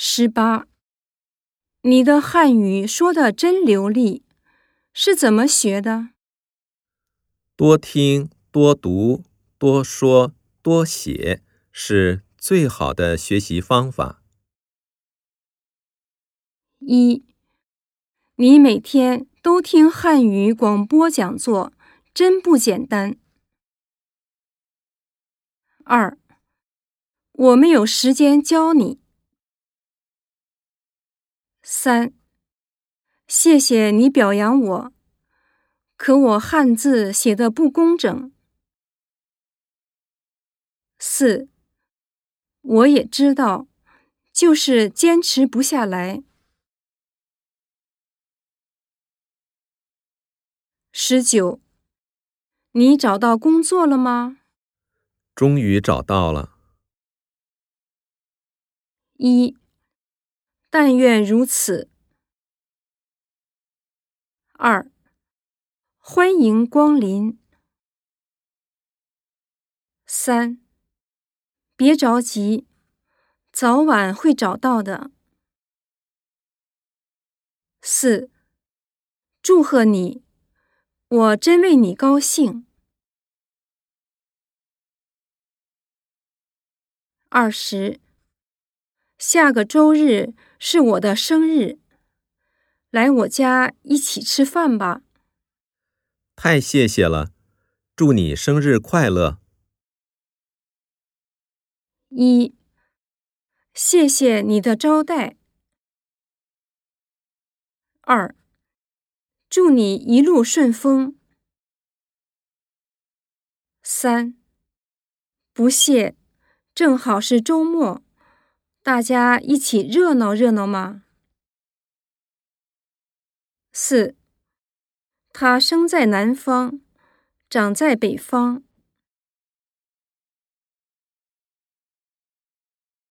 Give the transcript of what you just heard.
18. 你的汉语说得真流利，是怎么学的？ 多听、多读、多说、多写是最好的学习方法。 1. 你每天都听汉语广播讲座，真不简单。2. 我没有时间教你。3. 谢谢你表扬我，可我汉字写得不工整。4. 我也知道，就是坚持不下来。19. 你找到工作了吗？ 终于找到了。 1. 但愿如此。2. 欢迎光临。3. 别着急，早晚会找到的。4. 祝贺你，我真为你高兴。20. 下个周日是我的生日，来我家一起吃饭吧。 太谢谢了，祝你生日快乐。 1. 谢谢你的招待。2. 祝你一路顺风。3. 不谢，正好是周末，大家一起热闹热闹嘛。4. 他生在南方，长在北方，